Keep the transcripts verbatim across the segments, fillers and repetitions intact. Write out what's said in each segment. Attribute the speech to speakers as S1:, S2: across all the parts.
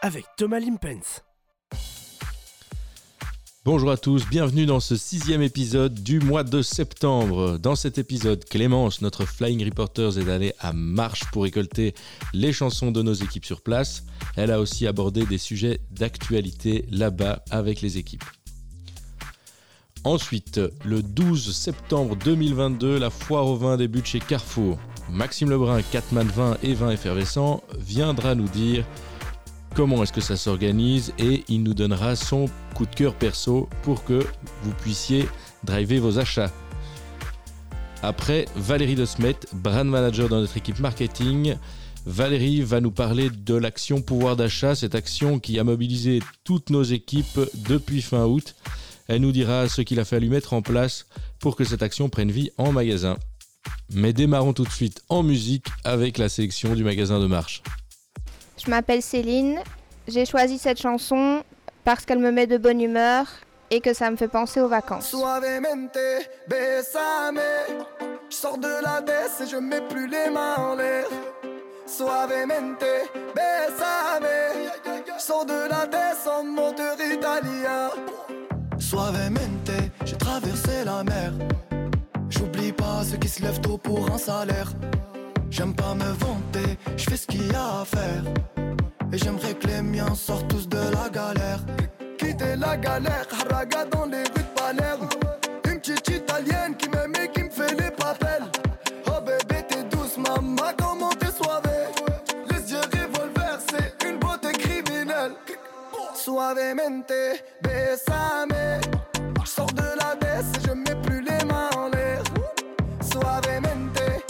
S1: avec Thomas Limpens.
S2: Bonjour à tous, bienvenue dans ce sixième épisode du mois de septembre. Dans cet épisode, Clémence, notre Flying Reporters, est allée à Marche pour récolter les chansons de nos équipes sur place. Elle a aussi abordé des sujets d'actualité là-bas avec les équipes. Ensuite, le douze septembre deux mille vingt-deux, la foire au vin débute chez Carrefour. Maxime Lebrun, Catman Vin et Vin Effervescent, viendra nous dire comment est-ce que ça s'organise et il nous donnera son coup de cœur perso pour que vous puissiez driver vos achats. Après, Valérie De Smet, brand manager dans notre équipe marketing. Valérie va nous parler de l'action pouvoir d'achat, cette action qui a mobilisé toutes nos équipes depuis fin août. Elle nous dira ce qu'il a fallu mettre en place pour que cette action prenne vie en magasin. Mais démarrons tout de suite en musique avec la sélection du magasin de Marche.
S3: Je m'appelle Céline, j'ai choisi cette chanson parce qu'elle me met de bonne humeur et que ça me fait penser aux vacances.
S4: Suavemente, besame. Je sors de la baisse et je mets plus les mains en l'air. Suavemente, besame. Je sors de la baisse en moteur italien. Suavemente, j'ai traversé la mer. J'oublie pas ceux qui se lèvent tôt pour un salaire. J'aime pas me vanter, je fais ce qu'il y a à faire. Et j'aimerais que les miens sortent tous de la galère. Quitter la galère, haraga dans les rues de Palerme. Une petite italienne qui m'aime et qui me fait les papels. Oh bébé t'es douce maman, comment t'es soivée. Les yeux revolver, c'est une beauté criminelle. Suavemente, besame. Je sors de la baisse et je mets plus les mains en l'air. Suavemente,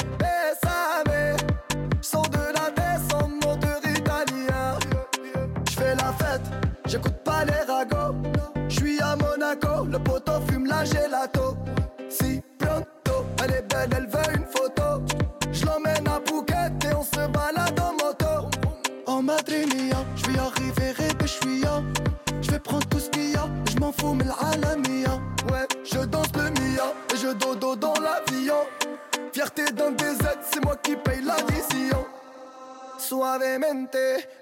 S4: besame. Je sors de la baisse en moteur italien. Je fais la fête, j'écoute pas les ragots. Je suis à Monaco, le poteau fume la gelato. Si pronto, elle est belle, elle veut une photo. Je l'emmène à Phuket et on se balade en moto. En Madrid mia, je vais arriver répé, je suis ya. Je vais prendre tout ce qu'il y a, je m'en fous mais l'alamia. Ouais, je danse le mia et je dodo dans l'avion. Fierté dans des aides, c'est moi qui paye l'addition. Suavemente,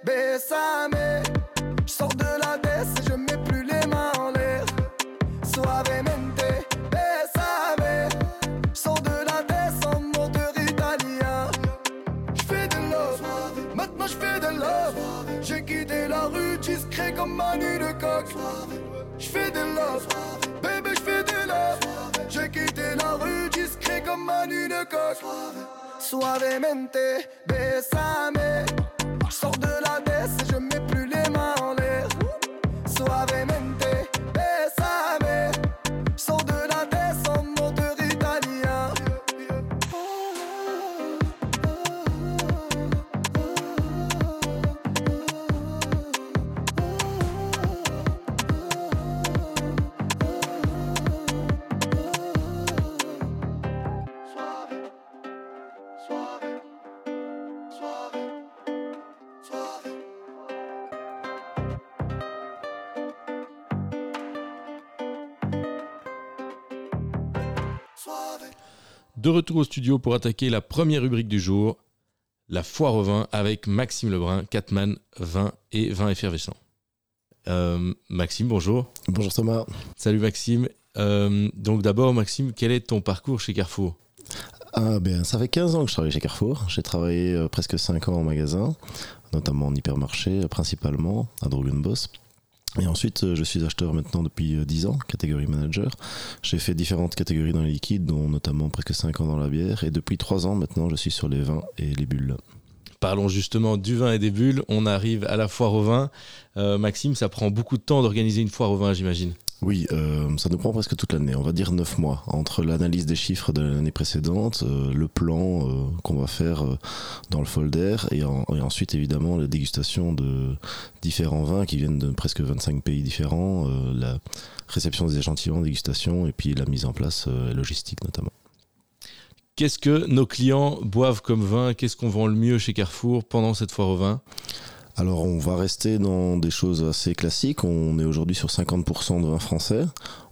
S4: besame. Je sors de la baisse et je mets plus les mains en l'air. Suavemente, besame. Je sors de la baisse en moteur italien. Je fais de love, maintenant je fais de love. J'ai quitté la rue discret comme Manu de coq. Je fais de love, bébé je fais de love. J'ai quitté la rue discret comme Manu de coq. Suavemente, besame. Je sors de la baisse et je mets plus les mains en l'air. Suavemente, besame. Je sors de la baisse en moteur italien.
S2: De retour au studio pour attaquer la première rubrique du jour, la foire au vin avec Maxime Lebrun, Catman Vin et Vin Effervescent. Euh, Maxime, bonjour.
S5: Bonjour Thomas.
S2: Salut Maxime. Euh, donc d'abord Maxime, quel est ton parcours chez Carrefour ?
S5: Ah ben, ça fait quinze ans que je travaille chez Carrefour. J'ai travaillé euh, presque cinq ans en magasin, notamment en hypermarché, euh, principalement à Drogenbos. Et ensuite, euh, je suis acheteur maintenant depuis euh, dix ans, catégorie manager. J'ai fait différentes catégories dans les liquides, dont notamment presque cinq ans dans la bière. Et depuis trois ans maintenant, je suis sur les vins et les bulles.
S2: Parlons justement du vin et des bulles. On arrive à la foire au vin. Euh, Maxime, ça prend beaucoup de temps d'organiser une foire au vin, j'imagine.
S5: Oui, euh, ça nous prend presque toute l'année, on va dire neuf mois, entre l'analyse des chiffres de l'année précédente, euh, le plan euh, qu'on va faire euh, dans le folder, et, en, et ensuite évidemment la dégustation de différents vins qui viennent de presque vingt-cinq pays différents, euh, la réception des échantillons, dégustation, et puis la mise en place euh, logistique notamment.
S2: Qu'est-ce que nos clients boivent comme vin ? Qu'est-ce qu'on vend le mieux chez Carrefour pendant cette foire au vin ?
S5: Alors on va rester dans des choses assez classiques, on est aujourd'hui sur cinquante pour cent de vin français,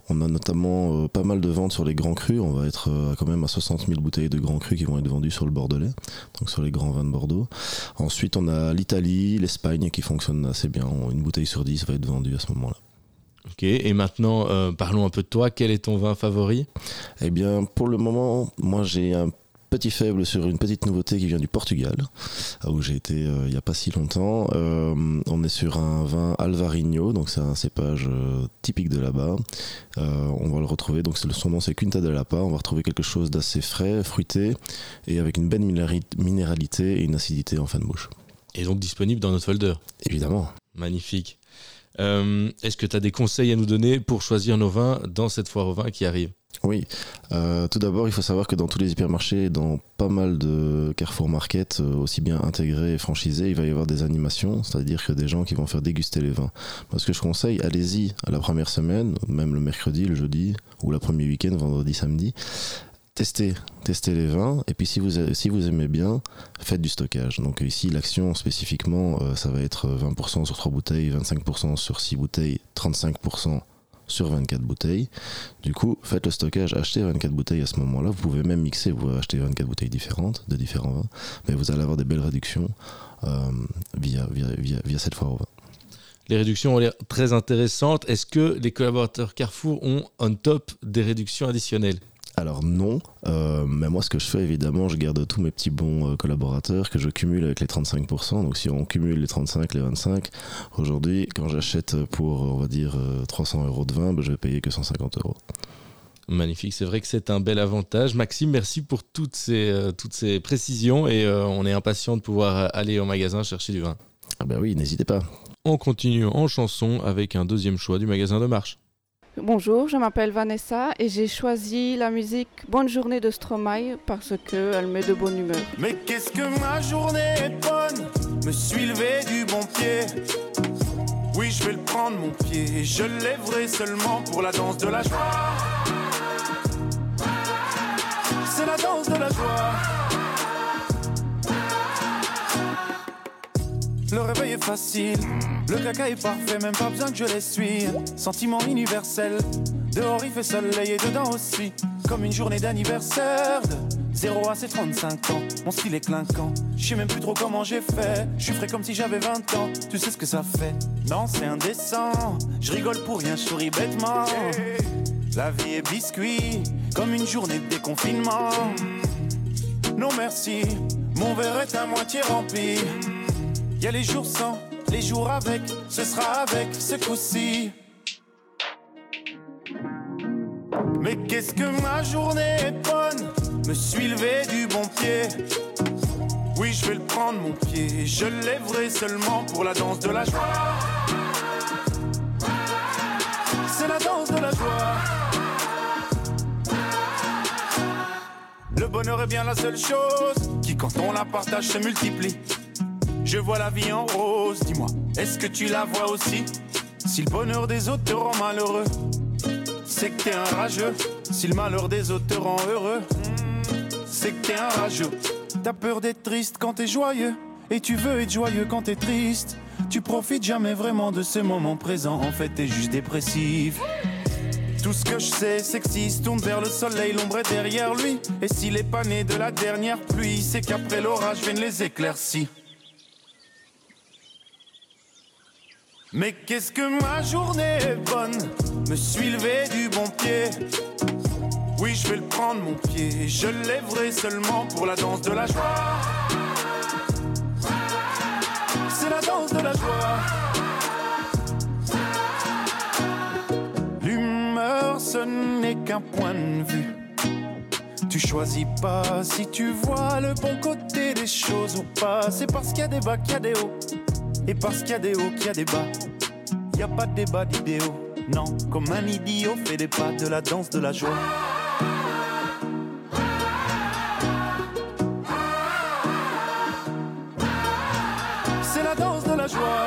S5: On a notamment euh, pas mal de ventes sur les grands crus. On va être euh, quand même à soixante mille bouteilles de grands crus qui vont être vendues sur le Bordelais, donc sur les grands vins de Bordeaux. Ensuite, on a l'Italie, l'Espagne qui fonctionnent assez bien. Une bouteille sur dix va être vendue à ce moment-là.
S2: Ok, et maintenant, euh, parlons un peu de toi. Quel est ton vin favori ?
S5: Eh bien, pour le moment, moi j'ai un petit faible sur une petite nouveauté qui vient du Portugal, où j'ai été euh, il n'y a pas si longtemps. Euh, on est sur un vin Alvarinho, donc c'est un cépage euh, typique de là-bas. Euh, on va le retrouver, donc c'est, son nom c'est Quinta de Lapa. On va retrouver quelque chose d'assez frais, fruité, et avec une belle minéralité et une acidité en fin de bouche.
S2: Et donc disponible dans notre folder ?
S5: Évidemment.
S2: Magnifique. Euh, est-ce que tu as des conseils à nous donner pour choisir nos vins dans cette foire au vin qui arrive ?
S5: Oui, euh, tout d'abord il faut savoir que dans tous les hypermarchés, dans pas mal de Carrefour Market, euh, aussi bien intégrés et franchisés, il va y avoir des animations, c'est-à-dire que des gens qui vont faire déguster les vins. Moi ce que je conseille, allez-y à la première semaine, même le mercredi, le jeudi, ou la premier week-end, vendredi, samedi, testez, testez les vins, et puis si vous, si vous aimez bien, faites du stockage. Donc ici l'action spécifiquement, euh, ça va être vingt pour cent sur trois bouteilles, vingt-cinq pour cent sur six bouteilles, trente-cinq pour cent sur vingt-quatre bouteilles. Du coup, faites le stockage, achetez vingt-quatre bouteilles à ce moment-là. Vous pouvez même mixer, vous pouvez acheter vingt-quatre bouteilles différentes, de différents vins, mais vous allez avoir des belles réductions euh, via, via, via, via cette foire au vin.
S2: Les réductions ont l'air très intéressantes. Est-ce que les collaborateurs Carrefour ont on top des réductions additionnelles ?
S5: Alors non, euh, mais moi ce que je fais évidemment, je garde tous mes petits bons euh, collaborateurs que je cumule avec les trente-cinq pour cent. Donc si on cumule les trente-cinq, les vingt-cinq, aujourd'hui quand j'achète pour on va dire euh, trois cents euros de vin, ben, je vais payer que cent cinquante euros.
S2: Magnifique, c'est vrai que c'est un bel avantage. Maxime, merci pour toutes ces, euh, toutes ces précisions et euh, on est impatient de pouvoir aller au magasin chercher du vin.
S5: Ah ben oui, n'hésitez pas.
S2: On continue en chanson avec un deuxième choix du magasin de Marche.
S1: Bonjour, je m'appelle Vanessa et j'ai choisi la musique Bonne journée de Stromae parce qu'elle met de bonne humeur.
S4: Mais qu'est-ce que ma journée est bonne, me suis levé du bon pied. Oui, je vais le prendre mon pied, je le lèverai seulement pour la danse de la joie. C'est la danse de la joie. Le réveil est facile, le caca est parfait, même pas besoin que je l'essuie. Sentiment universel, dehors il fait soleil et dedans aussi. Comme une journée d'anniversaire de zéro à ses trente-cinq ans. Mon style est clinquant, je sais même plus trop comment j'ai fait. Je suis frais comme si j'avais vingt ans, tu sais ce que ça fait. Non c'est indécent, je rigole pour rien, je souris bêtement. La vie est biscuit, comme une journée de déconfinement. Non merci, mon verre est à moitié rempli. Y'a les jours sans, les jours avec, ce sera avec ce coup-ci. Mais qu'est-ce que ma journée est bonne, me suis levé du bon pied. Oui, je vais le prendre mon pied, je le lèverai seulement pour la danse de la joie. C'est la danse de la joie. Le bonheur est bien la seule chose qui, quand on la partage, se multiplie. Je vois la vie en rose, dis-moi, est-ce que tu la vois aussi? Si le bonheur des autres te rend malheureux, c'est que t'es un rageux. Si le malheur des autres te rend heureux, c'est que t'es un rageux. T'as peur d'être triste quand t'es joyeux, et tu veux être joyeux quand t'es triste. Tu profites jamais vraiment de ce moment présent, en fait t'es juste dépressif. Tout ce que je sais, c'est que s'il se tourne vers le soleil, l'ombre est derrière lui. Et s'il est pas né de la dernière pluie, c'est qu'après l'orage viennent les éclaircies. Mais qu'est-ce que ma journée est bonne, me suis levé du bon pied. Oui, je vais le prendre mon pied, je le lèverai seulement pour la danse de la joie. C'est la danse de la joie. L'humeur, ce n'est qu'un point de vue. Tu choisis pas si tu vois le bon côté des choses ou pas. C'est parce qu'il y a des bas qu'il y a des hauts. Et parce qu'il y a des hauts qu'il y a des bas. Y a pas de débat d'idéaux. Non, comme un idiot fait des pas de la danse de la joie. C'est la danse de la joie.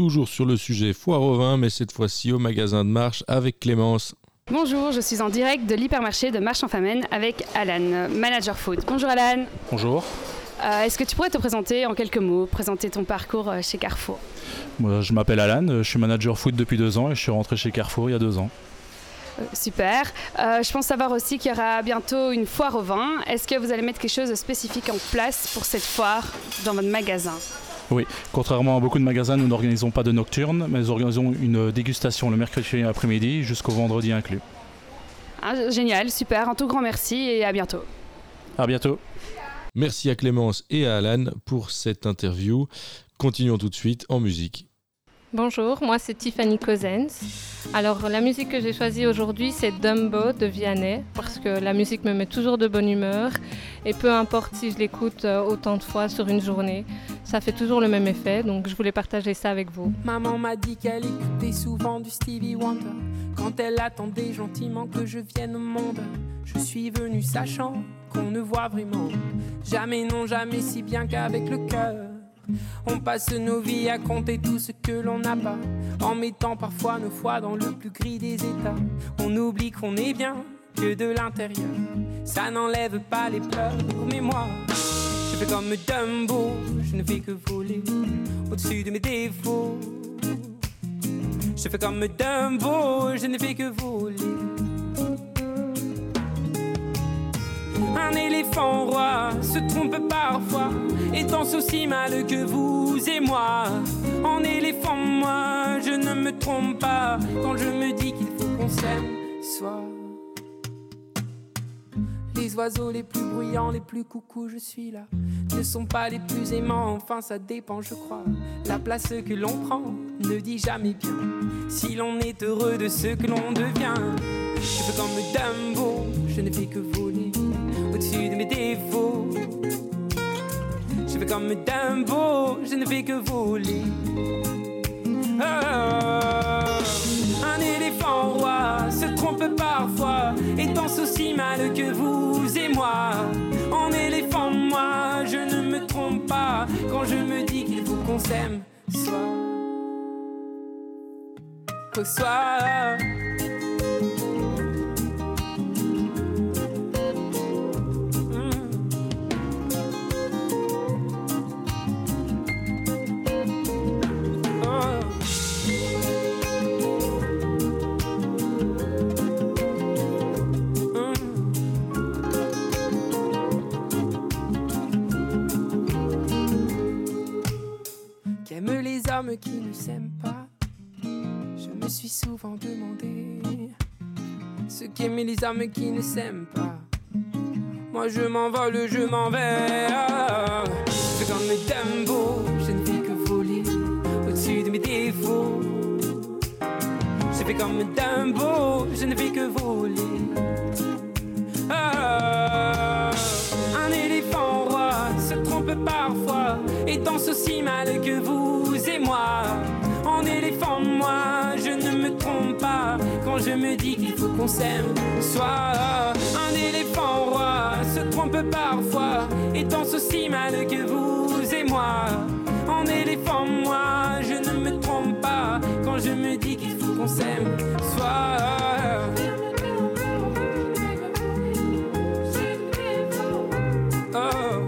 S2: toujours sur le sujet foire au vin, mais cette fois-ci au magasin de Marche avec Clémence.
S6: Bonjour, je suis en direct de l'hypermarché de Marche-en-Famenne avec Alan, manager food. Bonjour Alan.
S7: Bonjour.
S6: Euh, est-ce que tu pourrais te présenter en quelques mots, présenter ton parcours chez Carrefour ?
S7: Moi, je m'appelle Alan, je suis manager food depuis deux ans et je suis rentré chez Carrefour il y a deux ans.
S6: Euh, super. Euh, je pense savoir aussi qu'il y aura bientôt une foire au vin. Est-ce que vous allez mettre quelque chose de spécifique en place pour cette foire dans votre magasin ?
S7: Oui, contrairement à beaucoup de magasins, nous n'organisons pas de nocturne, mais nous organisons une dégustation le mercredi après-midi jusqu'au vendredi inclus.
S6: Ah, génial, super. Un tout grand merci et à bientôt.
S7: À bientôt.
S2: Merci à Clémence et à Alan pour cette interview. Continuons tout de suite en musique.
S8: Bonjour, moi c'est Tiffany Cousins. Alors la musique que j'ai choisie aujourd'hui c'est Dumbo de Vianney parce que la musique me met toujours de bonne humeur et peu importe si je l'écoute autant de fois sur une journée, ça fait toujours le même effet, donc je voulais partager ça avec vous.
S9: Maman m'a dit qu'elle écoutait souvent du Stevie Wonder quand elle attendait gentiment que je vienne au monde. Je suis venu sachant qu'on ne voit vraiment jamais, non jamais si bien qu'avec le cœur. On passe nos vies à compter tout ce que l'on n'a pas, en mettant parfois nos foi dans le plus gris des états. On oublie qu'on est bien que de l'intérieur, ça n'enlève pas les pleurs. Mais moi, je fais comme Dumbo, je ne fais que voler au-dessus de mes défauts. Je fais comme Dumbo, je ne fais que voler. Un éléphant roi se trompe parfois et danse aussi mal que vous et moi. En éléphant, moi, je ne me trompe pas quand je me dis qu'il faut qu'on s'aime soit. Les oiseaux les plus bruyants, les plus coucous, je suis là, ne sont pas les plus aimants, enfin ça dépend je crois. La place que l'on prend ne dit jamais bien si l'on est heureux de ce que l'on devient. Je fais comme Dumbo, je ne fais que voler au-dessus de mes défauts. Je fais comme Dumbo, je ne fais que voler. Oh, un éléphant roi se trompe parfois et danse aussi mal que vous et moi. En éléphant, moi, je ne me trompe pas quand je me dis qu'il faut qu'on s'aime soit. Au soir. Les hommes qui ne s'aiment pas, je me suis souvent demandé ce qu'aimaient les hommes qui ne s'aiment pas. Moi je m'envole, je m'en vais. C'est comme mes Dumbo, je ne fais que voler au-dessus de mes défauts. Je fais comme mes Dumbo, je ne fais que voler. Ah, un éléphant roi se trompe parfois et danse aussi mal que vous et moi. En éléphant, moi, je ne me trompe pas quand je me dis qu'il faut qu'on s'aime soit. Un éléphant roi se trompe parfois et danse aussi mal que vous et moi. En éléphant, moi, je ne me trompe pas quand je me dis qu'il faut qu'on s'aime soit. Oh.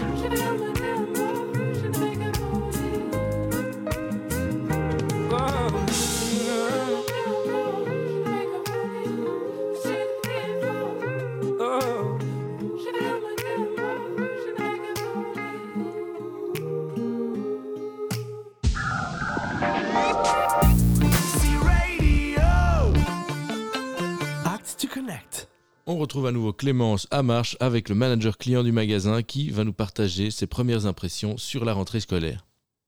S2: On retrouve à nouveau Clémence à Marche avec le manager client du magasin qui va nous partager ses premières impressions sur la rentrée scolaire.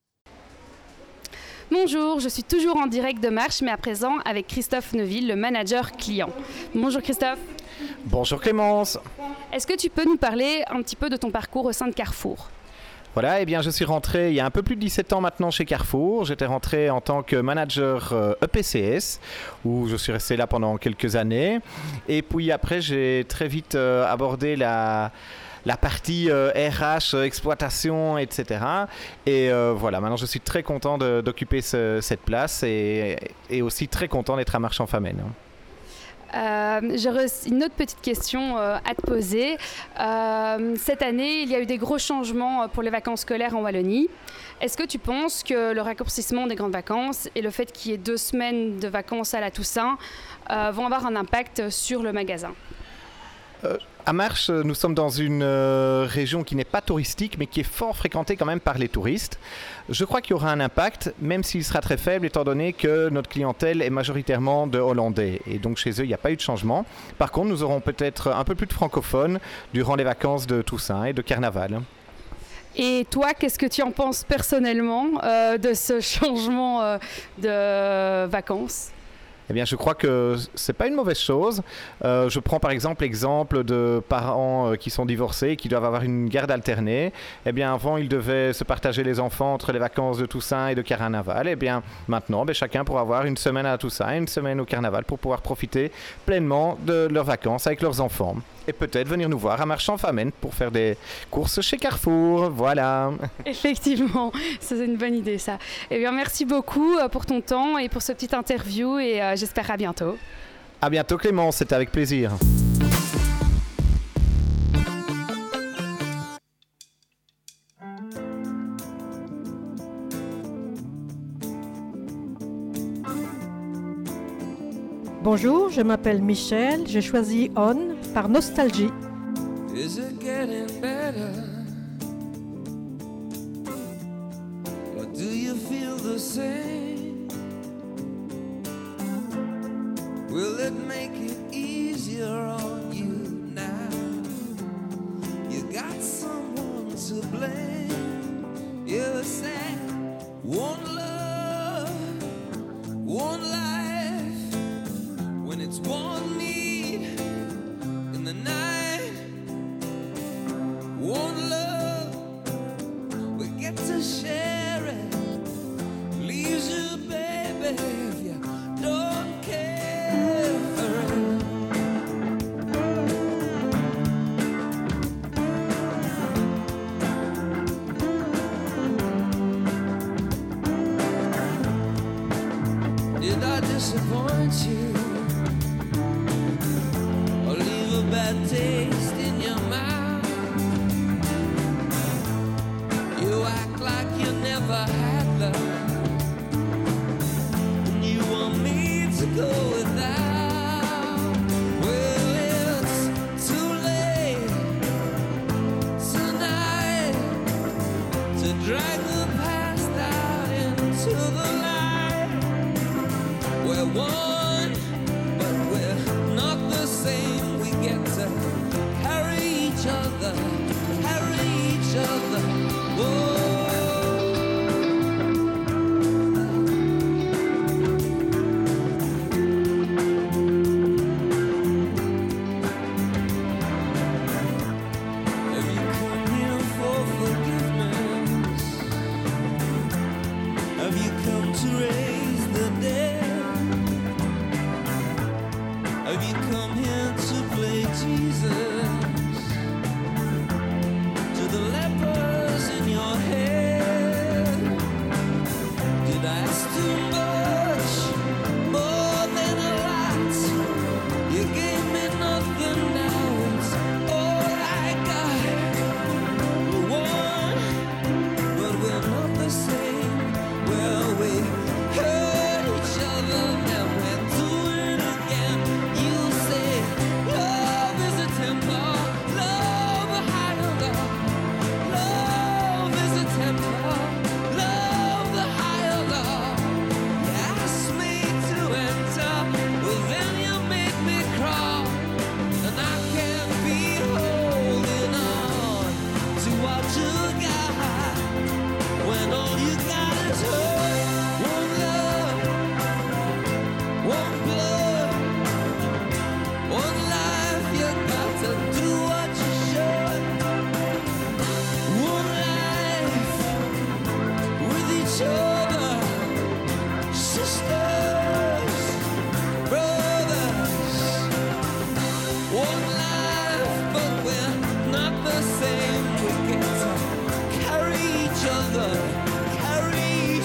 S6: Bonjour, je suis toujours en direct de Marche, mais à présent avec Christophe Neuville, le manager client. Bonjour Christophe.
S10: Bonjour Clémence.
S6: Est-ce que tu peux nous parler un petit peu de ton parcours au sein de Carrefour ?
S10: Voilà, eh bien je suis rentré il y a un peu plus de dix-sept ans maintenant chez Carrefour. J'étais rentré en tant que manager euh, E P C S, où je suis resté là pendant quelques années. Et puis après, j'ai très vite euh, abordé la, la partie euh, R H, euh, exploitation, et cetera. Et euh, voilà, maintenant je suis très content de, d'occuper ce, cette place et, et aussi très content d'être à Marchand-Famenne.
S6: Euh, J'aurais une autre petite question euh, à te poser. Euh, cette année, il y a eu des gros changements pour les vacances scolaires en Wallonie. Est-ce que tu penses que le raccourcissement des grandes vacances et le fait qu'il y ait deux semaines de vacances à la Toussaint euh, vont avoir un impact sur le magasin ?
S10: euh, À Marche, nous sommes dans une euh, région qui n'est pas touristique, mais qui est fort fréquentée quand même par les touristes. Je crois qu'il y aura un impact, même s'il sera très faible, étant donné que notre clientèle est majoritairement de Hollandais. Et donc chez eux, il n'y a pas eu de changement. Par contre, nous aurons peut-être un peu plus de francophones durant les vacances de Toussaint et de Carnaval.
S6: Et toi, qu'est-ce que tu en penses personnellement euh, de ce changement euh, de vacances ?
S10: Eh bien, je crois que c'est pas une mauvaise chose. Euh, je prends par exemple l'exemple de parents euh, qui sont divorcés et qui doivent avoir une garde alternée. Eh bien, avant, ils devaient se partager les enfants entre les vacances de Toussaint et de Carnaval. Eh bien, maintenant, ben, chacun pourra avoir une semaine à Toussaint et une semaine au Carnaval pour pouvoir profiter pleinement de leurs vacances avec leurs enfants. Et peut-être venir nous voir à Marchand-Famenne pour faire des courses chez Carrefour. Voilà.
S6: Effectivement, c'est une bonne idée ça. Eh bien, merci beaucoup pour ton temps et pour ce petit interview et euh, j'espère à bientôt.
S10: À bientôt Clémence, c'était avec plaisir.
S11: Bonjour, je m'appelle Michel, j'ai choisi On par nostalgie.
S12: Is it getting better? Or do you feel the same? Will it make it easier on you now? You got someone to blame. You said one love, one life. When it's one need in the night, one love, we get to share it, leaves you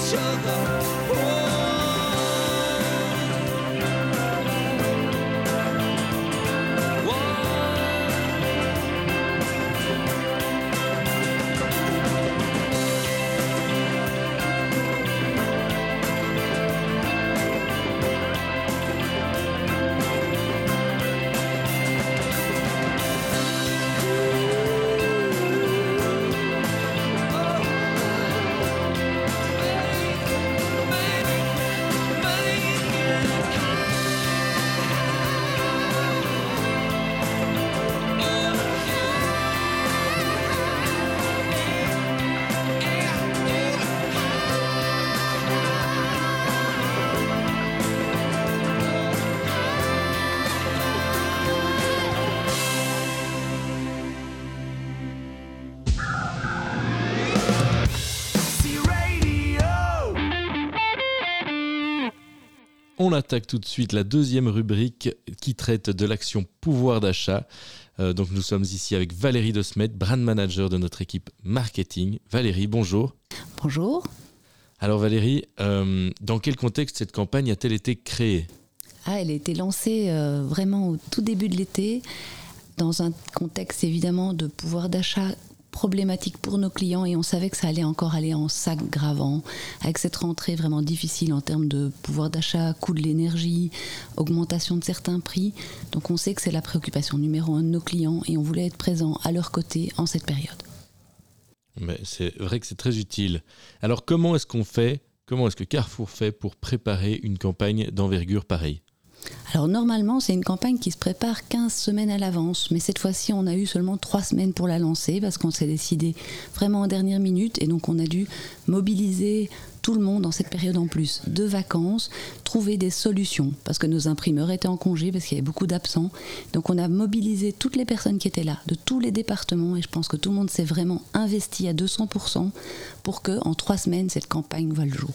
S12: each other.
S2: On attaque tout de suite la deuxième rubrique qui traite de l'action pouvoir d'achat. Euh, donc nous sommes ici avec Valérie De Smet, brand manager de notre équipe marketing. Valérie, bonjour.
S13: Bonjour.
S2: Alors Valérie, euh, dans quel contexte cette campagne a-t-elle été créée ?
S13: Ah, elle a été lancée euh, vraiment au tout début de l'été, dans un contexte évidemment de pouvoir d'achat problématique pour nos clients, et on savait que ça allait encore aller en s'aggravant avec cette rentrée vraiment difficile en termes de pouvoir d'achat, coût de l'énergie, augmentation de certains prix. Donc on sait que c'est la préoccupation numéro un de nos clients et on voulait être présent à leur côté en cette période.
S2: Mais c'est vrai que c'est très utile. Alors comment est-ce qu'on fait, comment est-ce que Carrefour fait pour préparer une campagne d'envergure pareille ?
S13: Alors normalement, c'est une campagne qui se prépare quinze semaines à l'avance, mais cette fois-ci, on a eu seulement trois semaines pour la lancer parce qu'on s'est décidé vraiment en dernière minute, et donc on a dû mobiliser tout le monde en cette période en plus de vacances, trouver des solutions parce que nos imprimeurs étaient en congé parce qu'il y avait beaucoup d'absents. Donc on a mobilisé toutes les personnes qui étaient là, de tous les départements, et je pense que tout le monde s'est vraiment investi à deux cents pour cent pour qu'en trois semaines, cette campagne voie le jour.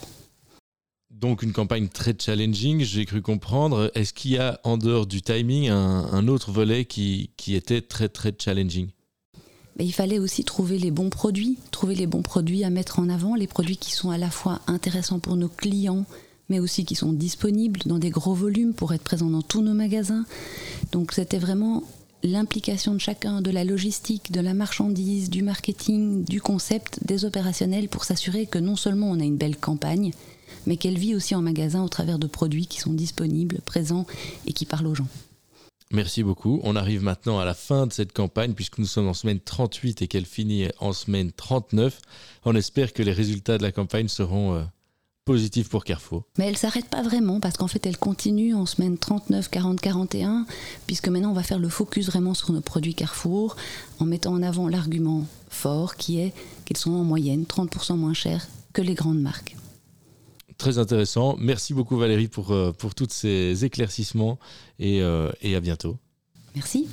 S2: Donc une campagne très challenging, j'ai cru comprendre. Est-ce qu'il y a, en dehors du timing, un, un autre volet qui, qui était très très challenging ?
S13: Mais il fallait aussi trouver les bons produits, trouver les bons produits à mettre en avant, les produits qui sont à la fois intéressants pour nos clients, mais aussi qui sont disponibles dans des gros volumes pour être présents dans tous nos magasins. Donc c'était vraiment l'implication de chacun, de la logistique, de la marchandise, du marketing, du concept, des opérationnels, pour s'assurer que non seulement on a une belle campagne, mais qu'elle vit aussi en magasin au travers de produits qui sont disponibles, présents et qui parlent aux gens.
S2: Merci beaucoup. On arrive maintenant à la fin de cette campagne puisque nous sommes en semaine trente-huit et qu'elle finit en semaine trente-neuf. On espère que les résultats de la campagne seront euh, positifs pour Carrefour.
S13: Mais elle ne s'arrête pas vraiment parce qu'en fait elle continue en semaine trente-neuf, quarante, quarante et un, puisque maintenant on va faire le focus vraiment sur nos produits Carrefour en mettant en avant l'argument fort qui est qu'ils sont en moyenne trente pour cent moins chers que les grandes marques.
S2: Très intéressant. Merci beaucoup Valérie pour, euh, pour tous ces éclaircissements et, euh, et à bientôt.
S13: Merci.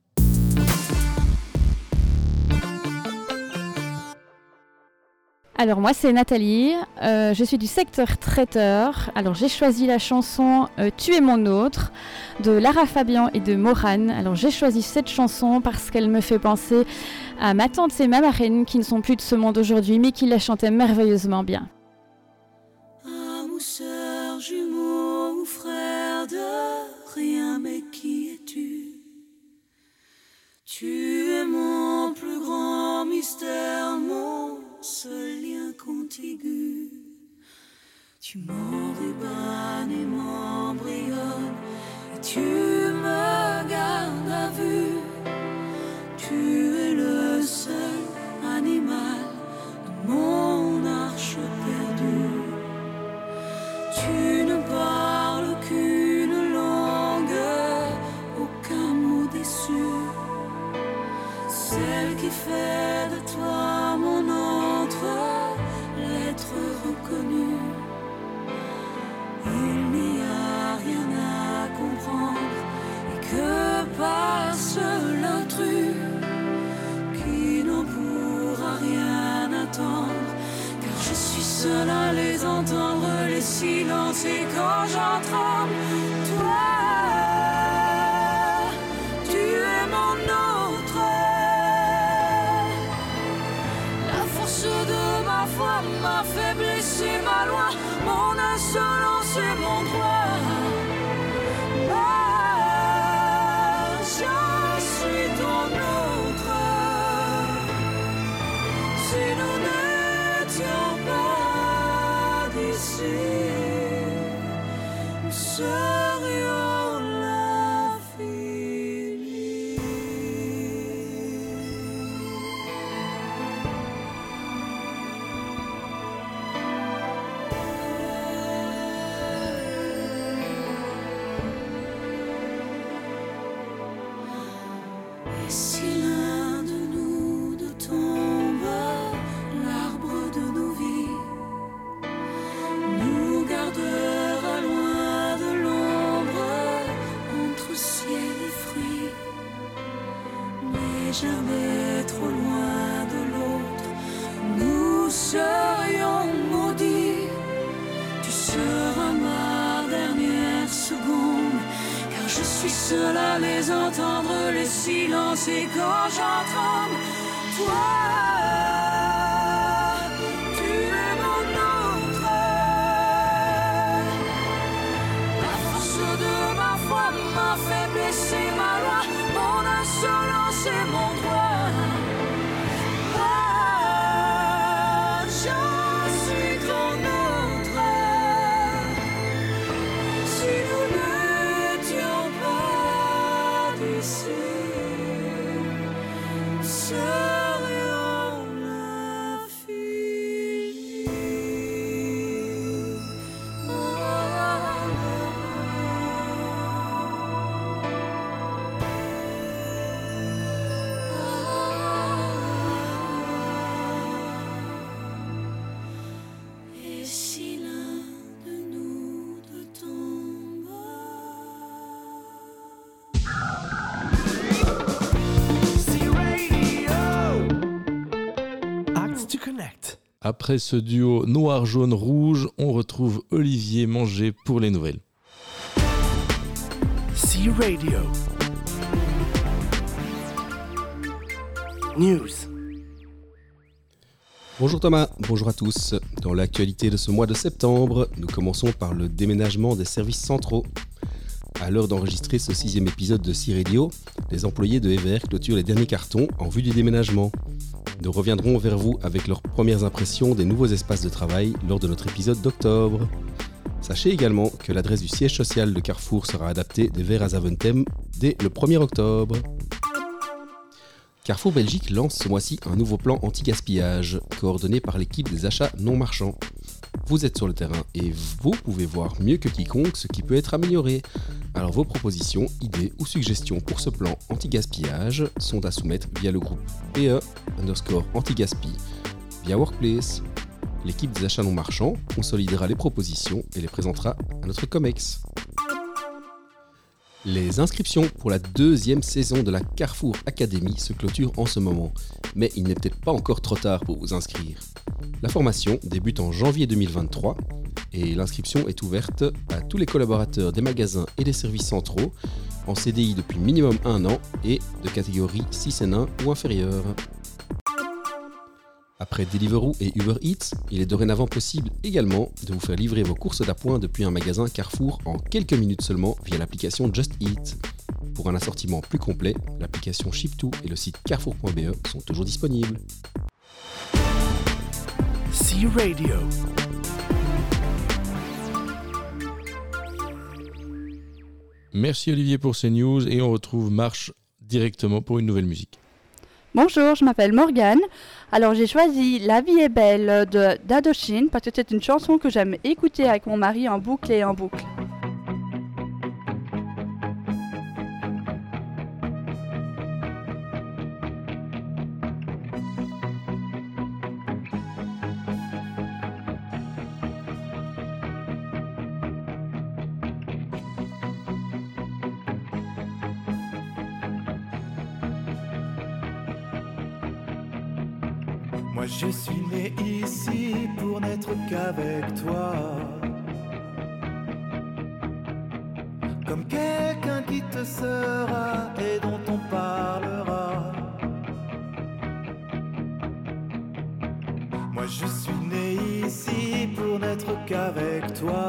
S14: Alors moi c'est Nathalie, euh, je suis du secteur traiteur. Alors j'ai choisi la chanson euh, Tu es mon autre de Lara Fabian et de Morane. Alors j'ai choisi cette chanson parce qu'elle me fait penser à ma tante et ma marraine qui ne sont plus de ce monde aujourd'hui mais qui la chantaient merveilleusement bien.
S12: Sœur, jumeau ou frère de rien, mais qui es-tu? Tu es mon plus grand mystère, mon seul lien contigu. Tu m'enrubans et m'embrayonnes, et tu me gardes à vue. Tu es le seul animal de mon arche perdue. Tu ne parles qu'une langue, aucun mot déçu. Celle qui fait de toi mon autre, l'être reconnu. Il n'y a rien à comprendre, et que passe l'intrus qui n'en pourra rien attendre. Je suis seule à les entendre, les silences, et quand j'en tremble, toi, tu es mon autre. La force de ma foi, ma faiblesse et ma loi, mon insolence et mon droit. Ah, je suis ton autre. Si nous n'étions pas d'ici, nous serions l'infini. Et si l'un de nous deux tombe, l'arbre de nos vies nous gardera loin de l'ombre, entre ciel et fruits, mais jamais trop loin de l'autre. Nous serions maudits. Tu seras ma dernière seconde, car je suis seul à les entendre, les silences, et quand j'en tremble, toi, tu es mon autre. La force de ma foi, ma faiblesse et ma loi, mon insolence et mon droit. Ah, je suis ton autre. Si nous n'étions pas d'ici, nous serions l'infini. Ah, et si l'un de nous deux tombe.
S2: Acts to Connect. Après ce duo noir-jaune-rouge, on retrouve Olivier Manger pour les nouvelles.
S15: C Radio. News.
S16: Bonjour Thomas, bonjour à tous. Dans l'actualité de ce mois de septembre, nous commençons par le déménagement des services centraux. À l'heure d'enregistrer ce sixième épisode de C Radio, les employés de Ever clôturent les derniers cartons en vue du déménagement. Nous reviendrons vers vous avec leurs premières impressions des nouveaux espaces de travail lors de notre épisode d'octobre. Sachez également que l'adresse du siège social de Carrefour sera adaptée d'Ever à Zaventem dès le premier octobre. Carrefour Belgique lance ce mois-ci un nouveau plan anti-gaspillage, coordonné par l'équipe des achats non marchands. Vous êtes sur le terrain et vous pouvez voir mieux que quiconque ce qui peut être amélioré. Alors vos propositions, idées ou suggestions pour ce plan anti-gaspillage sont à soumettre via le groupe P E underscore anti-gaspi via Workplace. L'équipe des achats non marchands consolidera les propositions et les présentera à notre COMEX. Les inscriptions pour la deuxième saison de la Carrefour Academy se clôturent en ce moment, mais il n'est peut-être pas encore trop tard pour vous inscrire. La formation débute en janvier deux mille vingt-trois et l'inscription est ouverte à tous les collaborateurs des magasins et des services centraux en C D I depuis minimum un an et de catégorie six N un ou inférieure. Après Deliveroo et Uber Eats, il est dorénavant possible également de vous faire livrer vos courses d'appoint depuis un magasin Carrefour en quelques minutes seulement via l'application Just Eat. Pour un assortiment plus complet, l'application Ship2 et le site carrefour point b e sont toujours disponibles.
S15: C Radio.
S2: Merci Olivier pour ces news et on retrouve Marche directement pour une nouvelle musique.
S17: Bonjour, je m'appelle Morgane. Alors j'ai choisi La vie est belle de d'Indochine parce que c'est une chanson que j'aime écouter avec mon mari en boucle et en boucle.
S18: Moi je suis né ici pour n'être qu'avec toi, comme quelqu'un qui te sera et dont on parlera. Moi je suis né n'être qu'avec toi.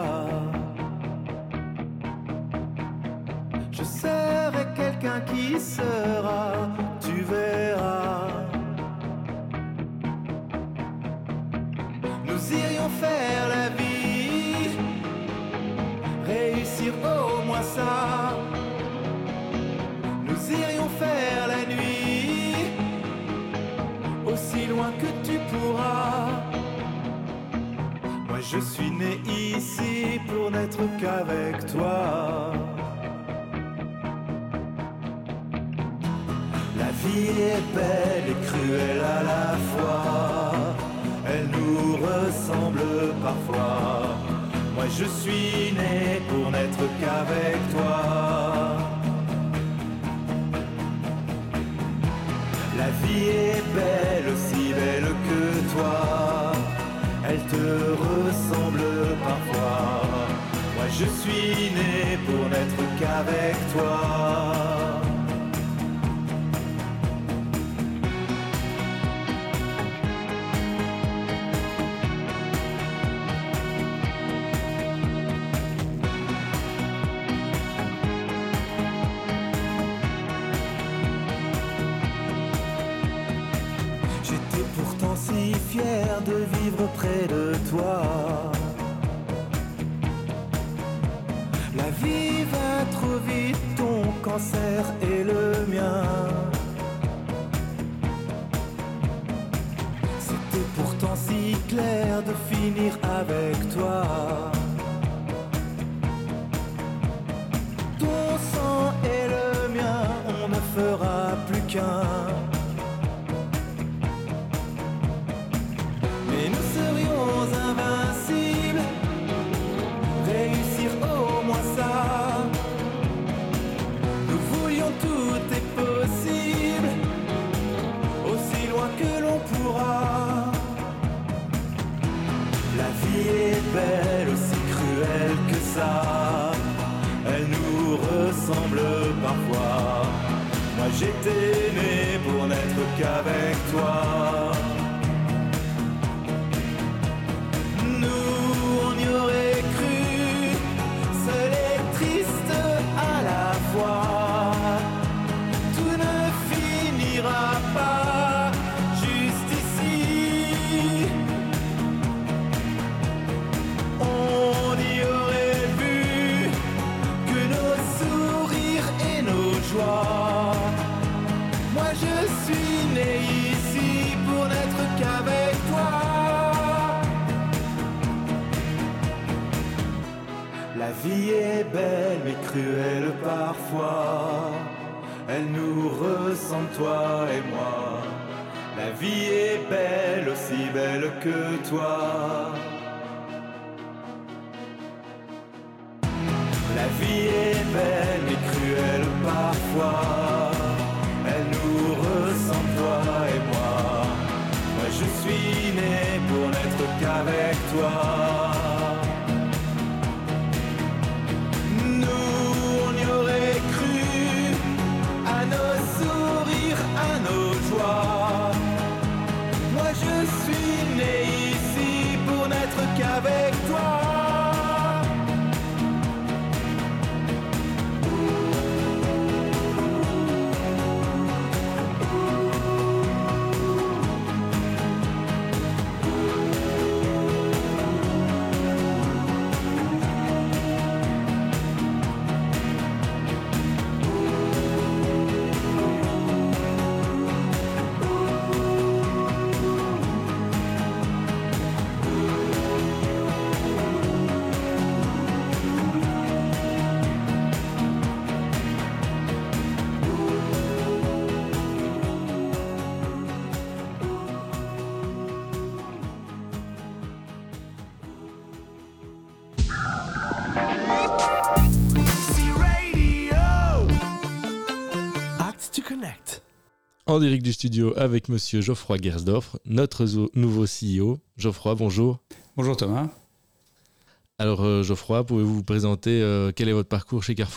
S18: Je serai quelqu'un qui sera, tu verras. Nous irions faire la vie, réussir au moins ça. Nous irions faire la nuit, aussi loin que tu pourras. Moi je suis né ici pour n'être qu'avec toi. La vie est belle et cruelle à la fois, elle nous ressemble parfois. Moi je suis né pour n'être qu'avec toi. La vie est belle, aussi belle que toi, elle te ressemble parfois. Moi je suis né pour n'être qu'avec toi. Fier de vivre près de toi. La vie va trop vite, ton cancer et le mien. C'était pourtant si clair de finir avec toi. Ton sang et le mien, on ne fera plus qu'un. Et nous serions invincibles, réussir au moins ça. Nous voulions tout est possible, aussi loin que l'on pourra. La vie est belle, aussi cruelle que ça, elle nous ressemble parfois. Moi j'étais né pour n'être qu'avec toi. Aurait cru, seul et triste à la fois. Tout ne finira pas juste ici. On y aurait vu que nos sourires et nos joies. Moi je suis né ici pour n'être qu'avec toi. La vie est belle mais cruelle parfois, elle nous ressemble toi et moi. La vie est belle, aussi belle que toi. La vie est belle mais cruelle parfois, elle nous ressemble toi et moi. Moi je suis né pour n'être qu'avec toi. Moi je suis né ici pour n'être qu'avec toi.
S2: En direct du studio avec monsieur Geoffroy Gersdorf, notre zo- nouveau C E O. Geoffroy, bonjour.
S19: Bonjour Thomas.
S2: Alors euh, Geoffroy, pouvez-vous vous présenter euh, quel est votre parcours chez Carrefour ?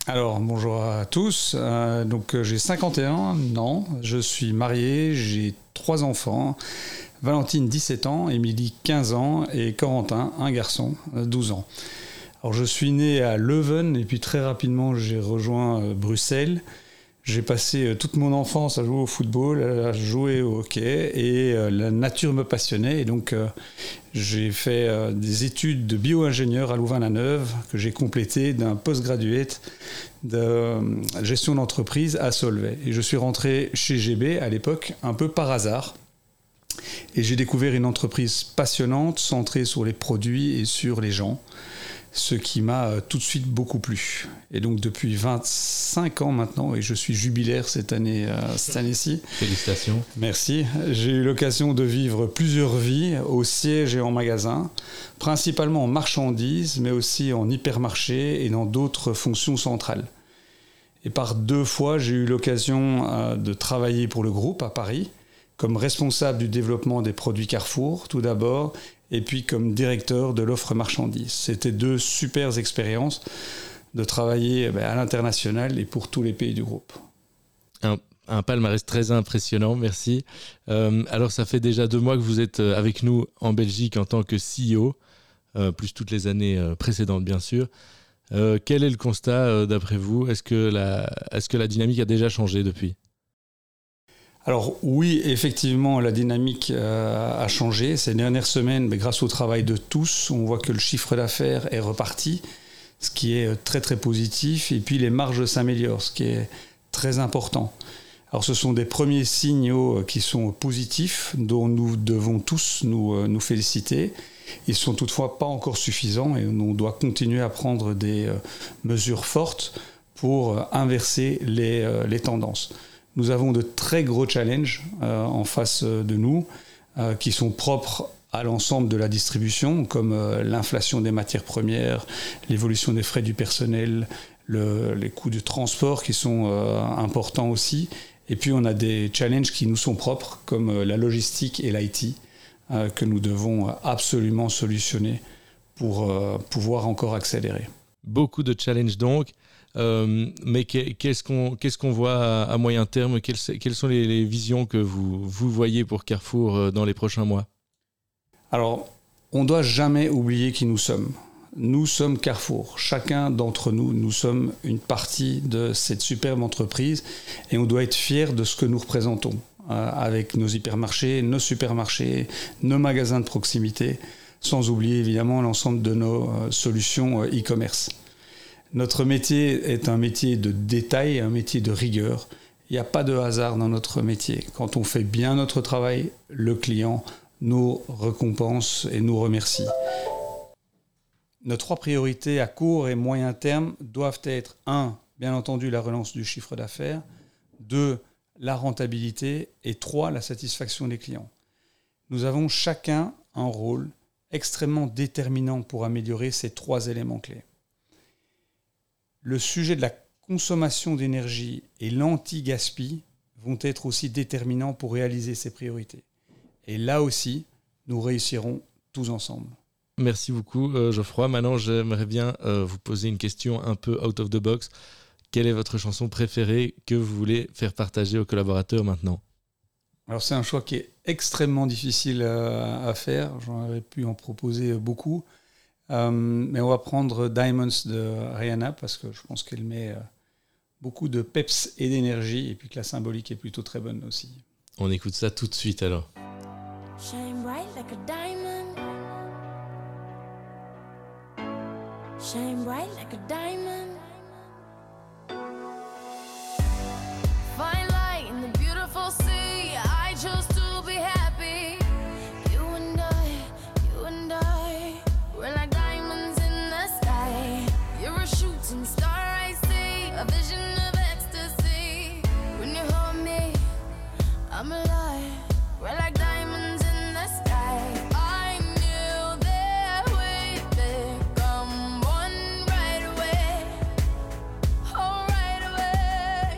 S19: Alors, bonjour à tous. Euh, donc, j'ai cinquante et un ans, je suis marié, j'ai trois enfants. Valentine, dix-sept ans, Émilie, quinze ans et Corentin, un garçon, douze ans. Alors, je suis né à Leuven et puis très rapidement, j'ai rejoint euh, Bruxelles. J'ai passé euh, toute mon enfance à jouer au football, à jouer au hockey et euh, la nature me passionnait. Et donc, euh, j'ai fait euh, des études de bio-ingénieur à Louvain-la-Neuve que j'ai complété d'un postgraduate de euh, gestion d'entreprise à Solvay. Et je suis rentré chez G B à l'époque un peu par hasard. Et j'ai découvert une entreprise passionnante, centrée sur les produits et sur les gens. Ce qui m'a tout de suite beaucoup plu. Et donc depuis vingt-cinq ans maintenant, et je suis jubilaire cette année, euh, cette année-ci.
S2: Félicitations.
S19: Merci. J'ai eu l'occasion de vivre plusieurs vies au siège et en magasin, principalement en marchandises, mais aussi en hypermarché et dans d'autres fonctions centrales. Et par deux fois, j'ai eu l'occasion euh, de travailler pour le groupe à Paris, comme responsable du développement des produits Carrefour, tout d'abord, et puis comme directeur de l'offre marchandise. C'était deux super expériences de travailler ben, à l'international et pour tous les pays du groupe.
S2: Un, un palmarès très impressionnant, merci. Euh, alors ça fait déjà deux mois que vous êtes avec nous en Belgique en tant que C E O, euh, plus toutes les années euh, précédentes bien sûr. Euh, quel est le constat euh, d'après vous ? Est-ce que la, est-ce que la dynamique a déjà changé depuis ?
S19: Alors oui, effectivement, la dynamique euh, a changé ces dernières semaines, mais grâce au travail de tous, on voit que le chiffre d'affaires est reparti, ce qui est très très positif, et puis les marges s'améliorent, ce qui est très important. Alors ce sont des premiers signaux qui sont positifs, dont nous devons tous nous, nous féliciter. Ils ne sont toutefois pas encore suffisants et on doit continuer à prendre des euh, mesures fortes pour euh, inverser les, euh, les tendances. Nous avons de très gros challenges euh, en face de nous euh, qui sont propres à l'ensemble de la distribution, comme euh, l'inflation des matières premières, l'évolution des frais du personnel, le, les coûts de transport qui sont euh, importants aussi. Et puis on a des challenges qui nous sont propres, comme euh, la logistique et l'I T, euh, que nous devons absolument solutionner pour euh, pouvoir encore accélérer.
S2: Beaucoup de challenges donc. Euh, mais qu'est-ce qu'on, qu'est-ce qu'on voit à, à moyen terme ? Quelles, quelles sont les, les visions que vous, vous voyez pour Carrefour dans les prochains mois ?
S19: Alors, on ne doit jamais oublier qui nous sommes. Nous sommes Carrefour. Chacun d'entre nous, nous sommes une partie de cette superbe entreprise et on doit être fiers de ce que nous représentons euh, avec nos hypermarchés, nos supermarchés, nos magasins de proximité, sans oublier évidemment l'ensemble de nos euh, solutions euh, e-commerce. Notre métier est un métier de détail, un métier de rigueur. Il n'y a pas de hasard dans notre métier. Quand on fait bien notre travail, le client nous récompense et nous remercie. Nos trois priorités à court et moyen terme doivent être un, bien entendu, la relance du chiffre d'affaires, deux, la rentabilité et trois, la satisfaction des clients. Nous avons chacun un rôle extrêmement déterminant pour améliorer ces trois éléments clés. Le sujet de la consommation d'énergie et l'anti-gaspi vont être aussi déterminants pour réaliser ces priorités. Et là aussi, nous réussirons tous ensemble.
S2: Merci beaucoup euh, Geoffroy. Maintenant, j'aimerais bien euh, vous poser une question un peu out of the box. Quelle est votre chanson préférée que vous voulez faire partager aux collaborateurs maintenant ?
S19: Alors c'est un choix qui est extrêmement difficile à, à faire. J'en aurais pu en proposer beaucoup. Euh, mais on va prendre Diamonds de Rihanna parce que je pense qu'elle met euh, beaucoup de peps et d'énergie et puis que la symbolique est plutôt très bonne aussi.
S2: On écoute ça tout de suite alors.
S12: Shine bright like a diamond. Shine bright like a diamond. Fine light in the beautiful sea. I chose to be happy. You and I, you and I, we're like diamonds in the sky. You're a shooting star I see, a vision of ecstasy. When you hold me, I'm alive. We're like diamonds in the sky. I knew that we'd become one right away. Oh, right away.